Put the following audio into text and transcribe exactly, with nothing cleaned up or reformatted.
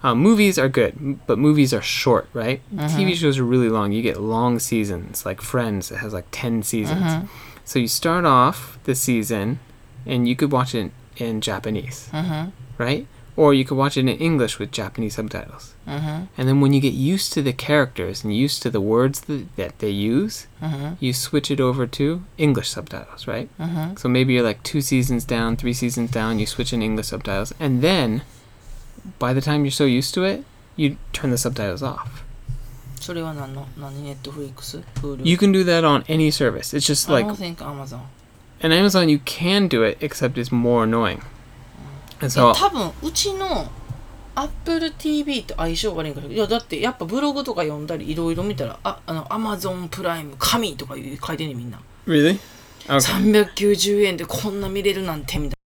Uh, movies are good, m- but movies are short, right? Mhm. T V shows are really long. You get long seasons, like Friends. It has like ten seasons. Mhm. So you start off the season, and you could watch it in Japanese, Mhm. right? Or you could watch it in English with Japanese subtitles. Mhm. And then when you get used to the characters and used to the words that, that they use, Mhm. you switch it over to English subtitles, right? Mhm. So maybe you're like two seasons down, three seasons down, you switch in English subtitles, and then by the time you're so used to it, you turn the subtitles off. それは何の何ネットフリックス Hulu? You can do that on any service. It's just I like don't think Amazon. in Amazon you can do it, except it's more annoying. And い so や多分うちの Apple ティーブイ と相性悪いんかけど、いやだってやっぱブログとか読んだりいろいろ見たら、あ、あの Amazon プライム神とかいう書いてんねんみんな。 really? Okay. さんびゃくきゅうじゅうえんでこんな見れるなんてみたいな。